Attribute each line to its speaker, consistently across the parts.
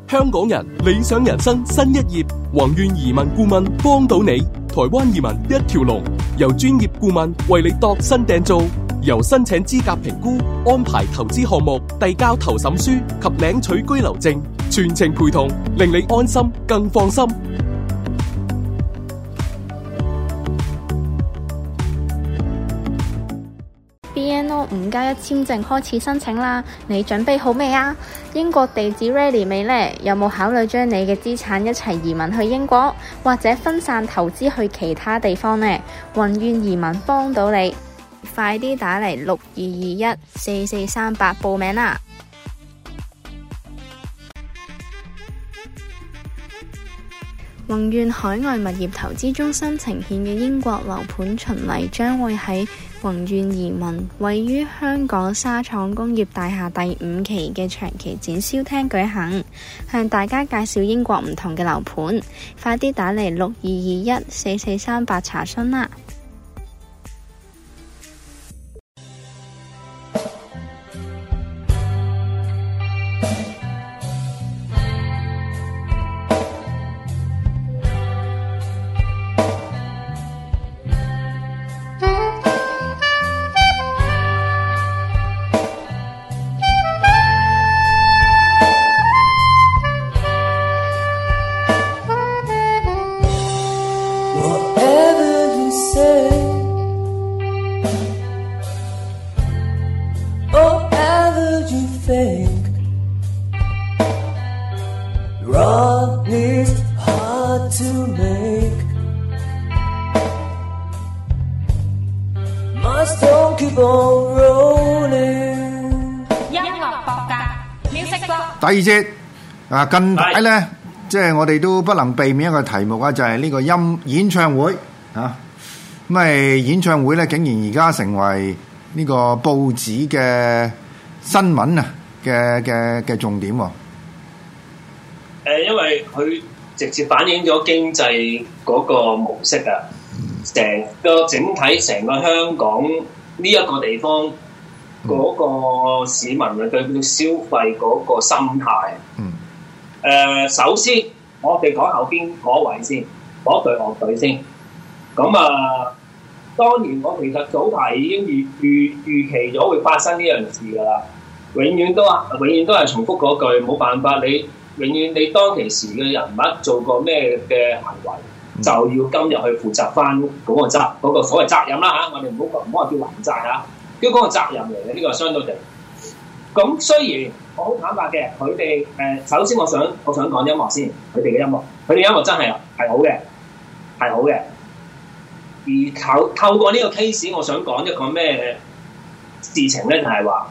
Speaker 1: 香港人理想人生新一頁，宏願移民顧問幫到你，台灣移民一條龍，由專業顧問為你度身訂造，由申請資格評估、安排投資項目、遞交投審書及領取居留證，全程陪同，令你安心更放心。
Speaker 2: BNO 5+1簽證開始申請啦，你準備好未啊？英國地址 ready 未呢？有冇考慮將你嘅資產一齊移民去英國，或者分散投資去其他地方呢？宏願移民幫到你，快啲打嚟62214438報名啦！宏願海外物業投資中心呈現嘅英國樓盤巡禮將會喺宏願移民位於香港沙廠工業大廈第5期嘅長期展銷廳舉行，向大家介紹英國唔同嘅樓盤，快啲打嚟62214438查詢啦！
Speaker 3: 第二節近排咧，即係我哋都不能避免一個題目啊，就係呢個演唱會啊。咁演唱會咧，竟然而家成為呢個報紙嘅新聞啊嘅重點喎。
Speaker 4: 因為佢直接反映咗經濟嗰個模式啊，成個香港呢一個地方。嗰個市民嘅對消費嗰個心態，首先我哋講後邊嗰位先，嗰隊樂隊先。咁當然我其實早排已經預期咗會發生呢樣事㗎啦。永遠都係重複嗰句，冇辦法，你永遠你當其時嘅人物做過咩嘅行為，就要今日去負責翻嗰個所謂責任啦嚇。我哋唔好話叫還債嚇。叫嗰個責任嚟嘅，呢個係相對地。咁雖然我好坦白嘅，佢哋首先我想講音樂先，佢哋嘅音樂真係好嘅，係好嘅。而透過呢個 case， 我想講一個咩事情咧，就係話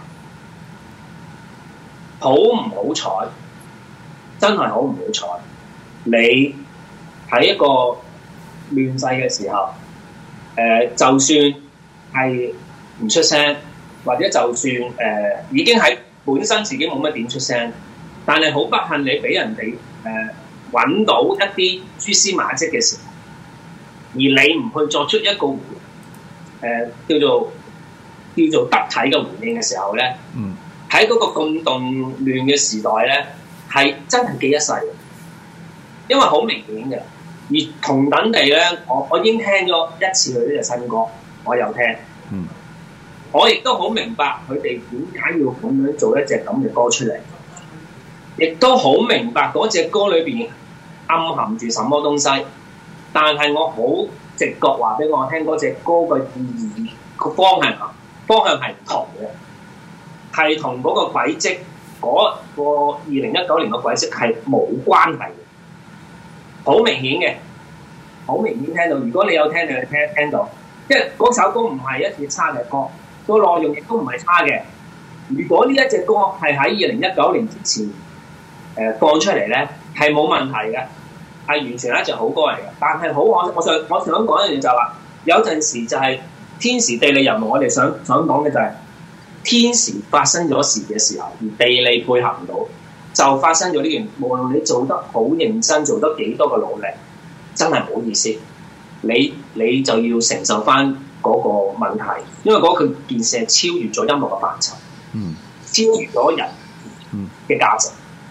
Speaker 4: 好唔好彩，真係好唔好彩。你喺一個亂世嘅時候，就算係唔出聲，或者就算已經喺本身自己冇乜點出聲，但係好不幸你俾人哋揾到一啲蛛絲馬跡嘅時候，而你唔去作出一個叫做得體嘅回應嘅時候咧，喺嗰個咁動亂嘅時代咧，係真係記一世嘅，因為好明顯嘅。而同等地咧，我已經聽咗一次佢呢隻新歌，我有聽。我亦都好明白佢哋點解要咁樣做一隻咁嘅歌出嚟，亦都好明白嗰隻歌裏邊暗含住什麼東西。但係我好直覺話俾我聽，嗰隻歌嘅意義個方向係唔同嘅，係同嗰個軌跡嗰個2019年嘅軌跡係冇關係嘅，好明顯嘅，好明顯聽到。如果你有聽，你聽到，因為嗰首歌唔係一隻差嘅歌。個內容亦都唔係差嘅。如果呢一隻歌係喺2019年之前放出嚟咧，係冇問題嘅，係完全係一隻好歌嚟嘅。但係我想講一樣嘢就係話，有陣時就係天時地利人和。我哋想講嘅就係天時發生咗事嘅時候，而地利配合唔到，就發生咗呢件。無論你做得好認真，做得幾多嘅努力，真係唔好意思，你就要承受翻嗰個問題，因為嗰件事係超越咗音樂嘅範疇，超越咗人嘅價值。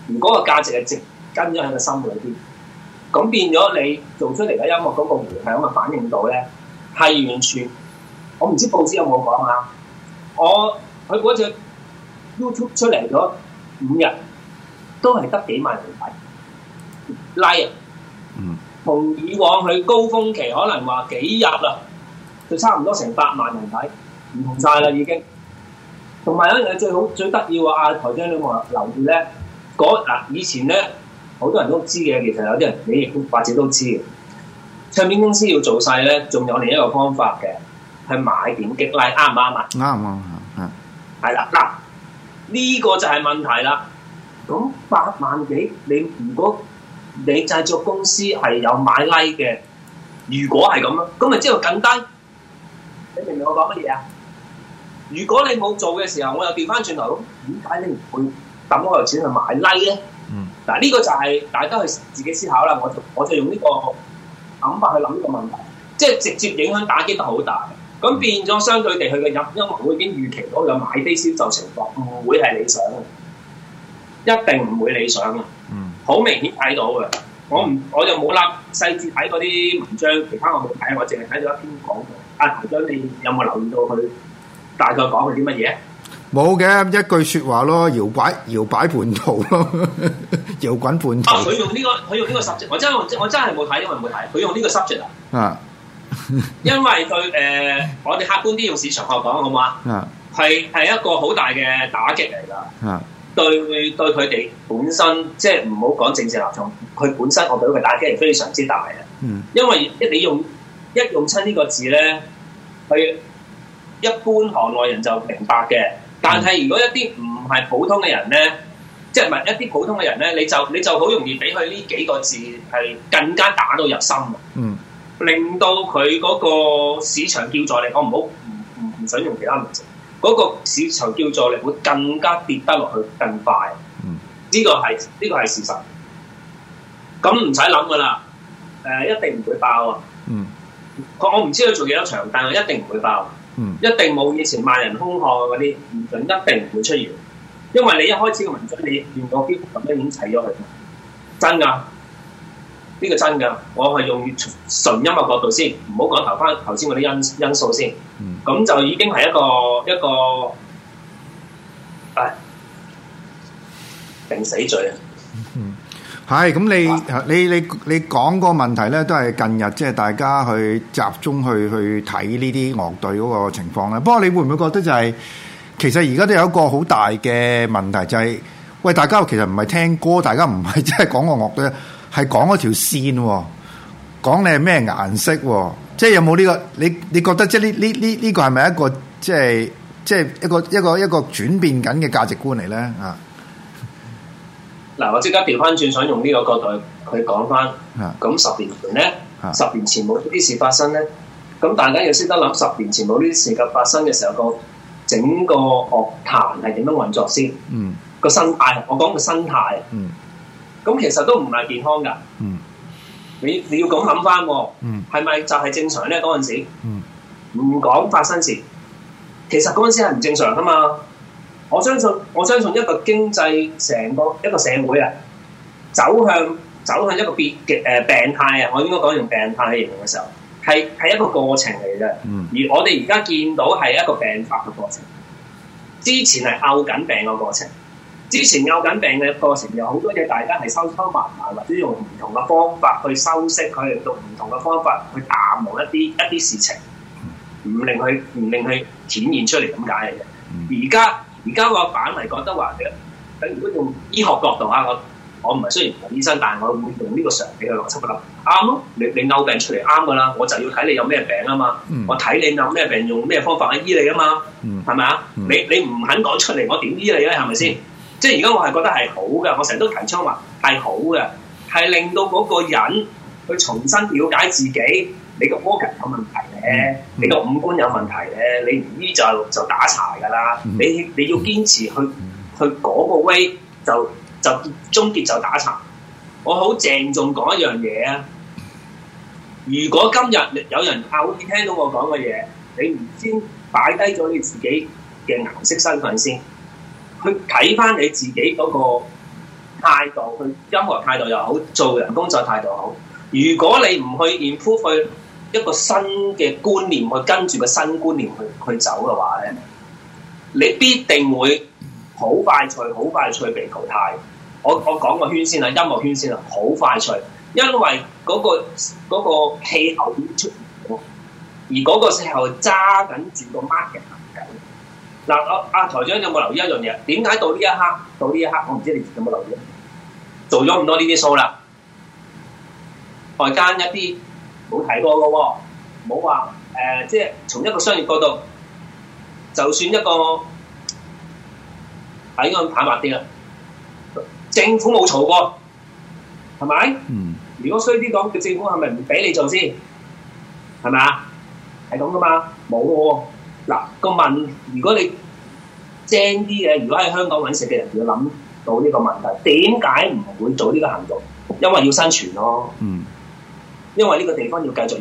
Speaker 4: 如果個價值係植根咗喺個心裏邊，咁變咗你做出嚟嘅音樂嗰個迴響嘅反應度咧，係完全我唔知報紙有冇講啊！佢嗰隻 YouTube 出嚟咗5日，都係得幾萬人睇 like 同以往佢高峰期可能話幾日啦，就差唔多成8萬人睇，唔同晒啦已經。同埋有一樣嘢最得意喎，台長你話留意咧，以前咧好多人都知嘅，其實有啲人你亦都或者都知嘅。唱片公司要做細咧，仲有另一個方法嘅，係買點擊 like 啱唔啱啊？
Speaker 3: 啱，
Speaker 4: 係啦，嗱呢個就係問題啦。咁8萬幾，你如果你製作公司係有買 like 嘅，如果係咁樣，咁咪即係更低。你明唔明我講乜嘢啊？如果你冇做嘅時候，我又調翻轉頭，點解你唔會抌嗰嚿錢去買 like 咧？嗱，呢個就係大家去自己思考啦。我就用呢個諗法去諗呢個問題，即係直接影響打擊得好大。咁變咗相對地，佢嘅音樂會已經預期到有買飛銷售情況，唔會係理想嘅，一定唔會理想嘅。好明顯睇到嘅。我就冇立細節睇嗰啲文章，其他我冇睇，我淨係睇咗一篇廣告。台長，你有冇留意到佢大概講佢啲乜嘢？冇
Speaker 3: 嘅，一句説話咯，搖擺叛徒咯，搖滾叛徒。
Speaker 4: 佢用呢個 subject，我真係冇睇，因為冇睇。佢用呢個 subject 啊，因為佢我哋客觀啲用市場學講好唔好啊？係一個好大嘅打擊嚟㗎。對佢哋本身，即係唔好講政治立場，佢本身我覺得佢打擊係非常之大嘅。因為你用親呢個字咧，佢一般行內人就明白嘅。但係如果一啲唔係普通嘅人咧，即係唔係一啲普通嘅人咧，你就好容易俾佢呢幾個字係更加打到入心。令到佢嗰個市場叫座力，我唔想用其他名詞。嗰個市場叫座力會更加跌得落去更快，呢個係事實。咁唔使諗噶啦，一定唔會爆啊！我唔知佢做幾多場，但係一定唔會爆，一定冇以前萬人空巷嗰啲現象，一定唔會出現。因為你一開始嘅文章，你連個標題都已經砌咗佢，真㗎，呢個真㗎。我係用純音樂角度先，唔好講頭先嗰啲因素先。咁就已經係一個定死罪啊！
Speaker 3: 係咁，你講個問題咧，都係近日即係大家去集中去睇呢啲樂隊嗰個情況咧。不過你會唔會覺得就係其實而家都有一個好大嘅問題，就係喂，大家其實唔係聽歌，大家唔係即係講個樂隊，係講嗰條線喎，講你係咩顏色喎。即係有冇呢個？你覺得即係呢個係咪一個即係一個轉變緊嘅價值觀嚟咧？啊！
Speaker 4: 嗱，我即刻調翻轉，想用呢個角度去講翻。咁10年前咧，10年前冇呢啲事發生咧，咁大家要識得諗10年前冇呢啲事嘅發生嘅時候，個整個樂壇係點樣運作先？個生態，我講個生態。咁其實都唔係健康㗎。你要咁諗翻，係咪就係正常咧？嗰陣時，唔講發生時，其實嗰陣時係唔正常噶嘛。我相信一個經濟成個一個社會啊，走向一個病態啊，我應該講用病態嚟形容嘅時候，係一個過程嚟嘅。而我哋而家見到係一個病發嘅過程，之前係拗緊病嘅過程。之前拗緊病嘅過程有好多嘢，大家係收埋埋，或者用唔同嘅方法去修飾佢，用唔同嘅方法去淡忘一啲事情，唔令佢顯現出嚟咁解嘅啫。而家我反而覺得話嘅，如果用醫學角度啊，我唔係雖然唔係醫生，但係我會用呢個常理嘅邏輯去諗，啱咯。你拗病出嚟啱噶啦，我就要睇你有咩病啊嘛。我睇你有咩病，用咩方法去醫你啊嘛。係咪啊？你唔肯講出嚟，我點醫你咧？係咪先？即係而家我係覺得係好嘅，我成日都提倡話係好嘅，係令到嗰個人去重新了解自己。你個 organ 有問題咧，你個五官有問題咧，你唔醫就打柴㗎啦。你要堅持去嗰個 way 就終結就打柴。我好鄭重講一樣嘢啊！如果今日有人好似聽到我講嘅嘢，你唔先擺低咗你自己嘅顏色身份先。去睇翻你自己嗰個態度，去音樂態度又好，做人工作態度好。如果你唔去 improve 去一個新嘅觀念，去跟住個新觀念去走嘅話咧，你必定會好快脆被淘汰。我講個圈先啦，音樂圈先啦，好快脆，因為嗰個氣候已經出現咗，而嗰個氣候揸緊住個 market 行緊。嗱，阿台長有冇留意一樣嘢？點解到呢一刻，我唔知你有冇留意？做咗咁多呢啲 show 啦，外間一啲冇提過嘅喎，冇話即係從一個商業角度，就算一個係應該坦白啲啦。政府冇嘈過，係咪？如果衰啲講，嘅政府係咪唔俾你做先？係咪啊？係咁噶嘛？冇喎。嗱個問，如果你精啲嘅，如果喺香港揾食嘅人要諗到呢個問題，點解唔會做呢個行動？因為要生存咯。因為呢個地方要繼續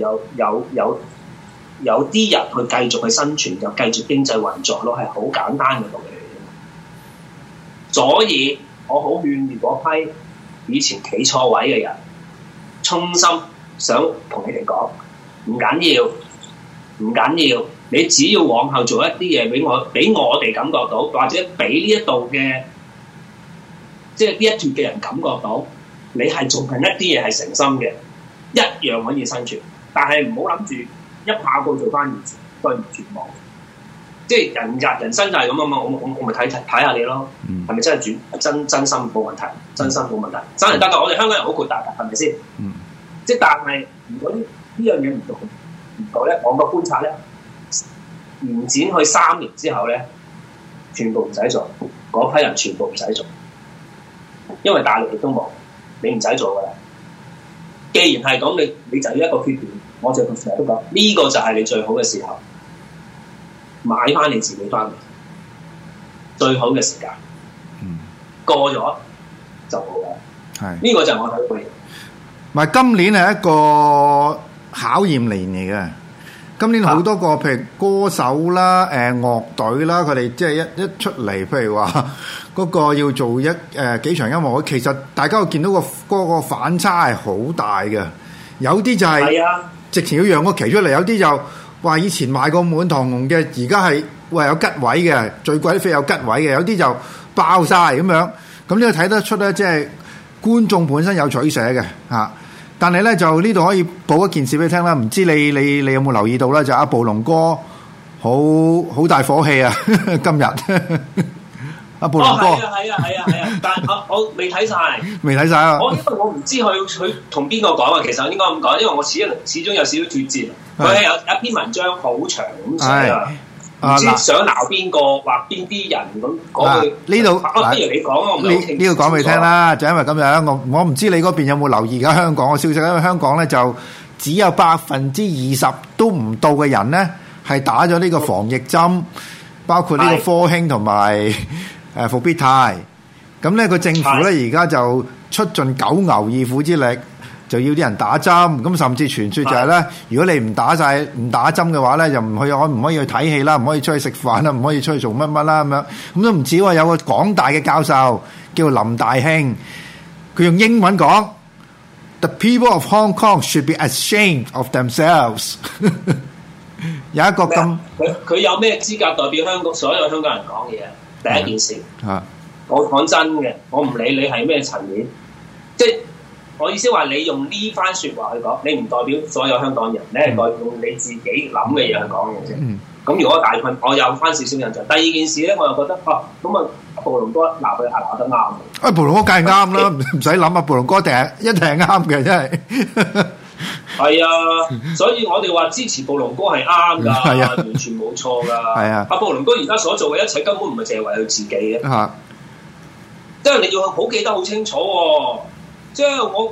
Speaker 4: 有啲人去繼續去生存，就繼續經濟運作咯，係好簡單嘅道理嚟嘅。所以我好勸喻嗰批以前企錯位嘅人，衷心想同你哋講，唔緊要，你只要往後做一啲嘢俾我哋感覺到，或者俾呢一度嘅即係呢一脱嘅人感覺到，你係做緊一啲嘢係誠心嘅，一樣可以生存。但係唔好諗住一下過做翻以前，對唔絕望。即係人生就係咁啊嘛，我咪睇下你咯，係咪真係真心冇問題？真心冇問題，真係得㗎。我哋香港人好豁達㗎，係咪先？即係但係如果呢樣嘢唔到咧，我個觀察咧，延展去3年之後咧，全部唔使做，嗰批人全部唔使做，因為大陸亦都冇，你唔使做㗎啦。既然係咁，你就要一個決斷，我就成日都講，呢個就係你最好嘅時候。買翻你自己翻嚟，最好嘅時間。過咗就冇啦。係呢個就係我睇嘅嘢。
Speaker 3: 唔係今年係一個考驗年嚟嘅。今年好多個譬如歌手啦、樂隊啦，佢哋即係一出嚟，譬如話嗰個要做幾場音樂會，其實大家會見到嗰個反差係好大嘅。有啲就係直情要讓個旗出嚟，有啲就話以前買過滿堂紅嘅，而家係話有吉位嘅，最貴啲飛有吉位嘅，有啲就爆晒咁樣。咁呢個睇得出咧，即係觀眾本身有取捨嘅嚇。但係咧就呢度可以報一件事俾你聽啦，唔知你有冇留意到咧？就阿暴龍哥好大火氣啊！今日阿暴龍哥
Speaker 4: 係啊，但係我未睇晒，
Speaker 3: 未睇晒啊！
Speaker 4: 因為我唔知佢同邊個講啊。其實應該咁講，因為我始終有少少脫節。佢係有一篇文章好長咁寫啊。唔知想鬧邊個或邊啲人咁講佢呢度？不如你講我唔係
Speaker 3: 呢個講俾你聽啦，就因為咁樣，我唔知你嗰邊有冇留意而家香港嘅消息，因為香港咧就只有20%都唔到嘅人咧係打咗呢個防疫針，包括呢個科興同埋復必泰。咁咧個政府咧而家就出盡九牛二虎之力，就要啲人打針，咁甚至傳説就係咧，如果你唔打針嘅話咧，就唔可以去睇戲啦，唔可以出去食飯啦，唔可以出去做乜啦咁樣。咁都唔止喎，有個港大嘅教授叫林大興，佢用英文講 ：The people of Hong Kong should be ashamed of themselves 。有一個咁，
Speaker 4: 佢有咩資格代表香港所有香港人講嘢？第一件事，我講真嘅，我唔理你係咩層面，即係。我意思話，你用呢番説話去講，你唔代表所有香港人，你係代表你自己諗嘅嘢去講嘅啫。咁如果大概我有翻少少印象。第二件事咧，我又覺得咁啊，暴龍哥鬧佢鬧得啱。暴龍哥梗係啱啦，唔使諗啊，暴龍哥一定係啱嘅，真係。係啊，所以我哋話支持暴龍哥係啱㗎，完全冇錯㗎。係啊，阿暴龍哥而家所做嘅一切根本唔係淨係為佢自己嘅，即係你要好記得好清楚喎。即係我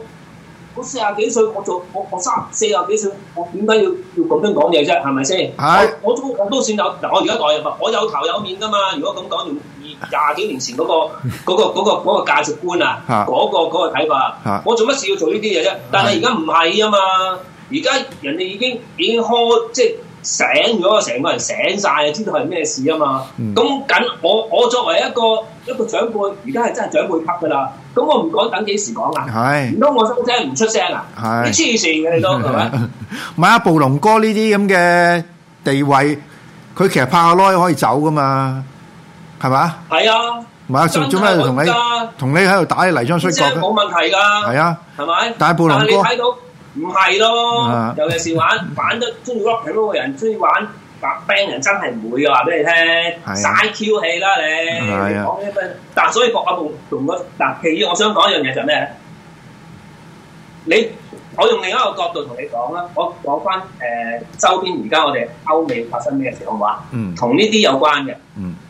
Speaker 4: 40幾歲，我40幾歲，我點解要咁樣講嘢啫？係咪先？我都算有嗱，我而家代入，我有頭有面噶嘛。如果咁講，用20幾年前嗰個價值觀啊，嗰個睇法，我做乜事要做呢啲嘢啫？但係而家唔係啊嘛，而家人哋已經開，即係醒咗，成個人醒晒，知道係咩事啊嘛。咁我作為一個長輩，而家係真係長輩級噶啦。咁我唔講等幾時講啊？
Speaker 3: 係。
Speaker 4: 唔通我收聲唔出聲啊？係。你黐線嘅你都係咪？
Speaker 3: 買阿暴龍哥呢啲咁嘅地位，佢其實拍下攞可以走噶嘛，係嘛？係啊。唔係啊，做咩同你喺度打泥漿摔角嘅？冇問題㗎。係啊。係咪？但係暴龍哥。但係你睇到。唔係咯，尤其是玩得中意 rock 嗰個人，中意玩band 人真係唔會嘅，話俾你聽，嘥 Q 氣啦你。講呢份，但所以我同個嗱，其二我想講一樣嘢就係咩咧？我用另一個角度同你講啦，我講翻周邊而家我哋歐美發生咩事好唔好啊？同呢啲有關嘅。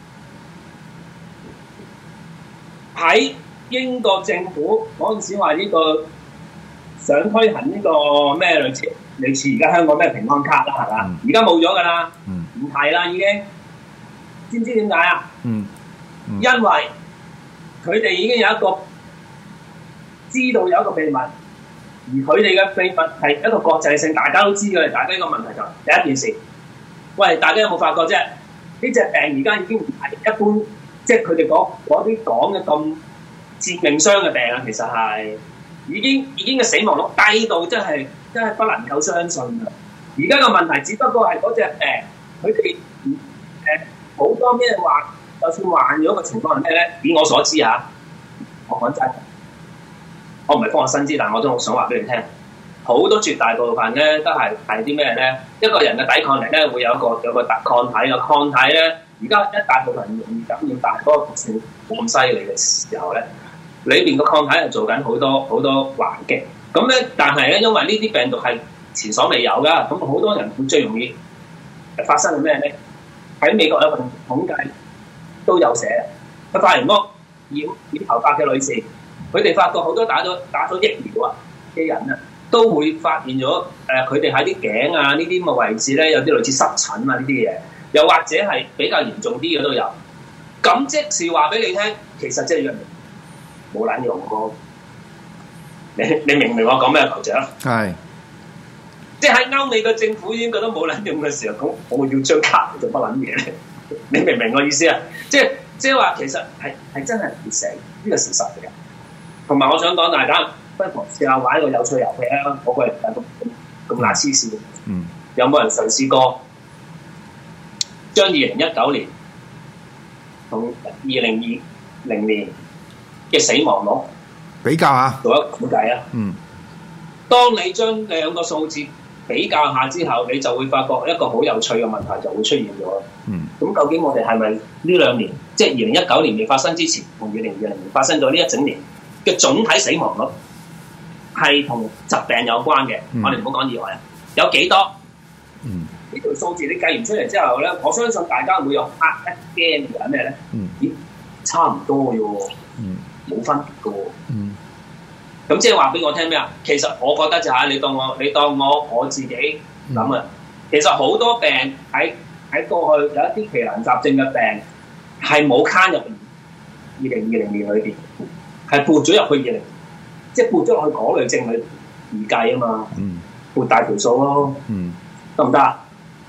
Speaker 3: 喺英國政府嗰陣時話呢個。想推行呢個咩類似而家香港咩平安卡啦，係嘛？而家冇咗㗎啦，唔係啦已經。知唔知點解啊？因為佢哋已經有一個知道有一個秘密，而佢哋嘅秘密係一個國際性，大家都知嘅。大家呢個問題就第一件事，喂，大家有冇發覺啫？呢隻病而家已經唔係一般，即係佢哋嗰啲講嘅咁致命傷嘅病啊，其實係。已經嘅死亡率低到真係不能夠相信啊！而家個問題只不過係嗰隻佢哋好多咩話，就算患咗個情況係咩咧？以我所知嚇，我講真，我唔係科學新知，但我都好想話俾你聽，好多絕大部分咧都係啲咩咧？一個人嘅抵抗力咧會有個抗體嘅抗體咧，而家一大部分人容易感染，但係嗰個毒性冇咁犀利嘅時候咧。裏邊個抗體係做緊好多還擊，咁咧，但係咧，因為呢啲病毒係前所未有噶，咁好多人會最容易發生係咩咧？喺美國有份統計都有寫，佢發現咗染頭髮嘅女士，佢哋發覺好多打咗疫苗啊嘅人啊，都會發現咗佢哋喺啲頸啊呢啲咁嘅位置咧，有啲類似濕疹啊呢啲嘢，又或者係比較嚴重啲嘅都有。咁即是話俾你聽，其實即係藥冇撚用過，你明唔明我講咩頭像？係，即係喺歐美嘅政府已經覺得冇撚用嘅時候，咁我要張卡做乜撚嘢咧？你明唔明我意思啊？即係話其實係真係唔會死，呢個事實嚟嘅。同埋我想講大家不妨試下玩一個有趣遊戲啊！我個人咁乸黐線，有冇人嘗試過將2019年同2020年嘅死亡率比較下，
Speaker 4: 做一個估計啊！當你將兩個數字比較下之後，你就會發覺一個好有趣嘅問題就會出現咗。咁究竟我哋係咪呢兩年，即係2019年未發生之前，同2020年發生咗呢一整年嘅總體死亡率係同疾病有關嘅？我哋唔好講意外啊，有幾多？呢條數字你計完出嚟之後咧，我相信大家會有一驚嘅咩咧？咦，差唔多嘅喎。冇分別嘅喎，咁即係話俾我聽咩啊？其實我覺得就係你當我自己諗啊，其實好多病喺過去有一啲奇難雜症嘅病係冇攤入2020年裏邊，係撥咗入去即係撥咗落去嗰類症去而計啊嘛，撥大條數咯，得唔得啊？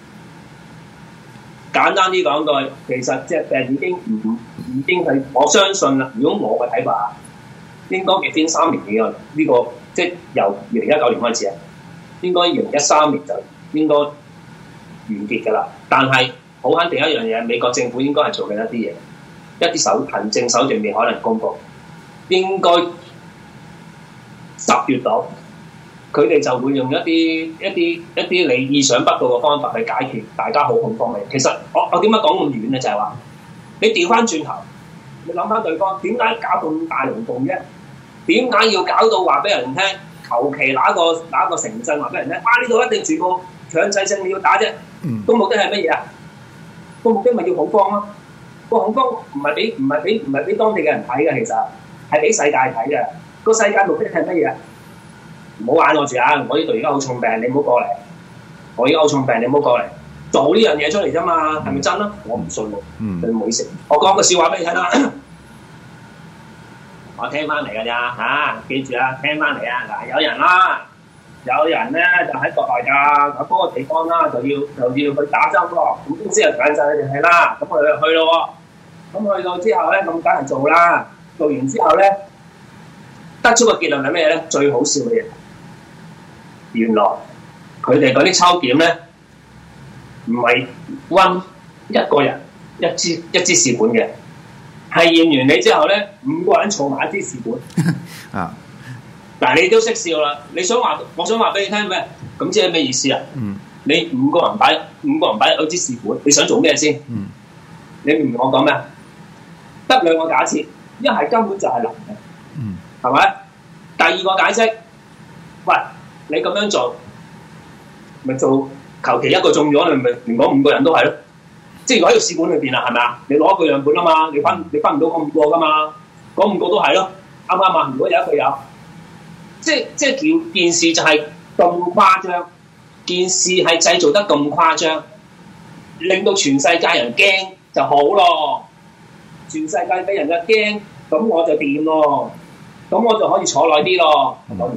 Speaker 4: 簡單啲講句，其實隻病已經係我相信啦。如果我嘅睇法，應該極先3年嘅呢個，即係由2019年開始啊，應該2013年就應該完結㗎啦。但係好肯定一樣嘢，美國政府應該係做緊一啲嘢，一啲行政手段未可能公佈，應該10月度。佢哋就會用一啲你意想不到嘅方法去解決大家好恐慌嘅。其實我點解講咁遠咧？就係話你調翻轉頭，你諗翻對方點解搞咁大龍鳳啫？點解要搞到話俾人聽？求其拿個城鎮話俾人聽，呢度一定全部強制性你要打啫。個目的係乜嘢啊？個目的咪要恐慌咯。個恐慌唔係俾當地嘅人睇嘅，其實係俾世界睇嘅。個世界目的係乜嘢啊？唔好玩我住啊！我呢度而家好重病，你唔好過嚟。我而家好重病，你唔好過嚟。做呢樣嘢出嚟啫嘛，係咪真啊？我唔信喎。你唔好食。我講個笑話俾你聽啦。我聽翻嚟㗎咋嚇？記住啊，聽翻嚟啊！嗱，有人啦， 有人咧就喺國內㗎，咁嗰個地方啦就要去打針咯。咁公司就揀晒佢哋係啦，咁我哋就去咯。咁去到之後咧，咁梗係做啦。做完之後咧，得出個結論係咩咧？最好笑嘅嘢，原來佢哋嗰啲抽檢咧，唔係溫一個人一支試管嘅，係驗完你之後咧，5個人儲埋一支試管。啊！嗱，你都識笑啦！我想話俾你聽咩？咁即係咩意思啊？你5個人擺一支試管，你想做咩先？你明唔明我講咩？得2個假設，一係根本就係零嘅，係咪？第二個解釋，喂，你咁樣做，咪做求其一個中咗，你咪連嗰5個人都係咯。即係如果喺個試管裏邊啦，係咪啊？你攞一個樣本啊嘛，你分唔到嗰5個噶嘛，嗰5個都係咯，啱唔啱啊？如果有一個有。即係件事就係咁誇張，件事係製造得咁誇張，令到全世界人驚就好咯。全世界俾人嘅驚，咁我就掂咯，咁我就可以坐耐啲咯。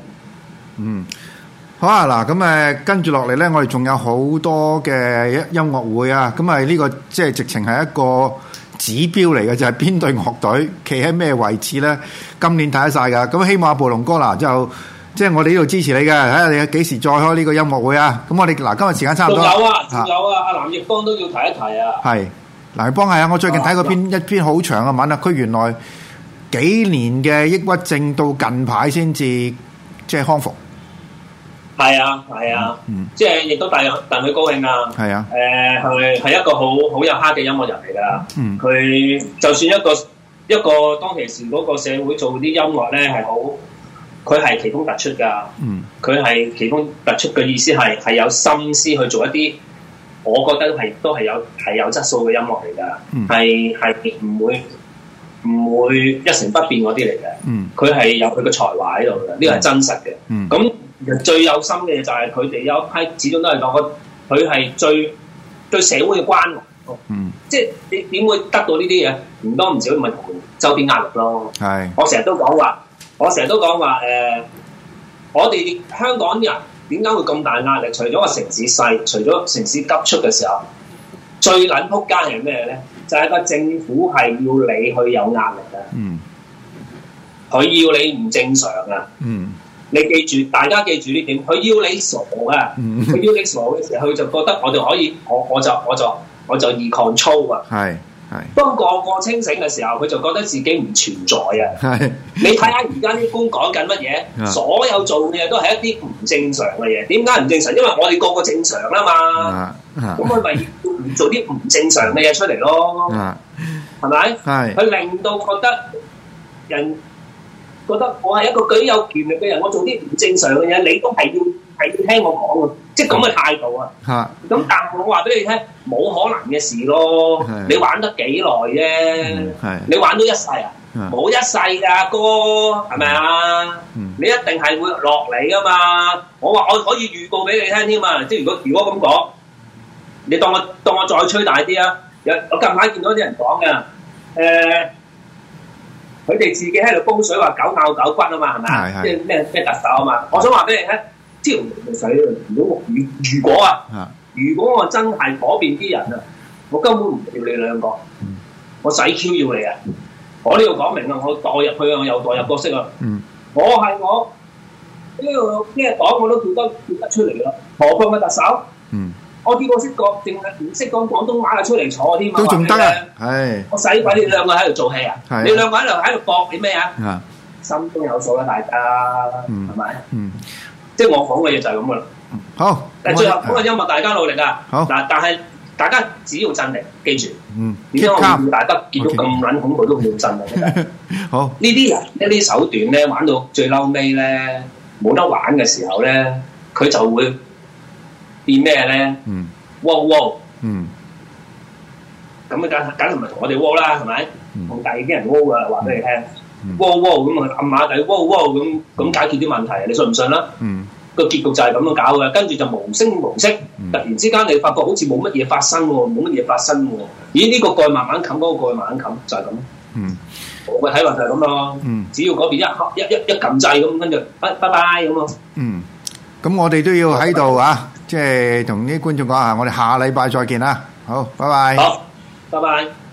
Speaker 3: 好啊，嗱，咁跟住落嚟咧，我哋仲有好多嘅音樂會啊，咁呢個即係直情係一個指標嚟嘅，就係邊隊樂隊企喺咩位置咧？今年睇得晒噶，咁希望阿暴龍哥嗱就即係我哋呢度支持你嘅，睇下你幾時再開呢個音樂會啊！咁我哋嗱今日時間差唔多，
Speaker 4: 仲有啊，阿藍奕邦都要提一提啊。
Speaker 3: 係藍奕邦係啊，我最近睇過一篇好長嘅文啊，佢原來幾年嘅抑鬱症到近排先至即係康復。
Speaker 4: 係啊，即係亦都戥佢高興啊！
Speaker 3: 係啊，
Speaker 4: 係一個好有 heart 嘅音樂人嚟㗎。佢就算一個當其時嗰個社會做啲音樂咧係好，佢係奇峰突出㗎。佢係奇峰突出嘅意思係有心思去做一啲，我覺得都係有質素嘅音樂嚟㗎。係唔會一成不變嗰啲嚟嘅。佢係有佢嘅才華喺度嘅，呢個係真實嘅。咁最有心嘅就係佢哋有一批，始終都係講佢係最對社會嘅關懷。即係你點會得到呢啲嘢？唔多唔少咪同周邊壓力咯。係，我成日都講話，我哋香港人點解會咁大壓力？除咗個城市細，除咗城市急促嘅時候，最撚撲街係咩咧？就係個政府係要你去有壓力啊！佢要你唔正常啊！你記住，大家記住呢點，佢要你傻啊！佢要你傻嘅時候，佢就覺得我哋可以，我就易 control 啊！係。當個清醒嘅時候，佢就覺得自己唔存在啊！你睇下而家啲官講緊乜嘢？所有做嘅嘢都係一啲唔正常嘅嘢。點解唔正常？因為我哋個個正常啦嘛。咁佢咪要做啲唔正常嘅嘢出嚟咯？係咪？佢令到覺得人覺得我係一個具有權力嘅人，我做啲唔正常嘅嘢，你都係要聽我講嘅，即係咁嘅態度啊！咁但係我話俾你聽，冇可能嘅事咯。你玩得幾耐啫？你玩到一世啊？冇一世㗎，哥，係咪啊？你一定係會落嚟㗎嘛！我話我可以預告俾你聽添嘛！即係如果咁講，你當我再吹大啲啊！我近排見到啲人講嘅，佢哋自己喺度煲水話狗咬狗骨啊嘛，係咪啊？即係咩特首啊嘛！我想話俾你聽。朝唔使如果我真係嗰邊啲人啊，我根本唔要你兩個，我使 Q 要你啊！我呢度講明啊，我代入去啊，我又代入角色啊。我係我呢個咩黨我都叫得出嚟啦，何況個特首？我見過識講，淨係唔識講廣東話啊，出嚟坐添啊！
Speaker 3: 都仲得啊！係
Speaker 4: 我使鬼你兩個喺度做戲啊！你兩個喺度搏你咩啊？心中有數啦，大家係咪？即係我講嘅嘢就係咁噶啦。好，但係最後嗰個音樂大家努力啊！好嗱，但係大家只要鎮定，記住。點解我要大家見到咁撚恐怖都冇鎮定？好，呢啲人呢啲手段咧，玩到最嬲尾咧，冇得玩嘅時候咧，佢就會變咩咧？wow！咁梗係唔係同我哋 wow 啦？係咪？同第二啲人 wow 噶，話俾你聽。咁啊暗馬底咁解決啲問題，你信唔信啦？個結局就係咁樣搞嘅，跟住就無聲無息，突然之間你發覺好似冇乜嘢發生喎，咦？呢個蓋慢慢冚，嗰個蓋慢慢冚，就係咁。我嘅睇法就係咁咯。只要嗰邊一撳掣咁，跟住拜拜咁咯。
Speaker 3: 咁我哋都要喺度啊，即係同啲觀眾講下，我哋下禮拜再見啦。好，拜拜。
Speaker 4: 好，拜拜。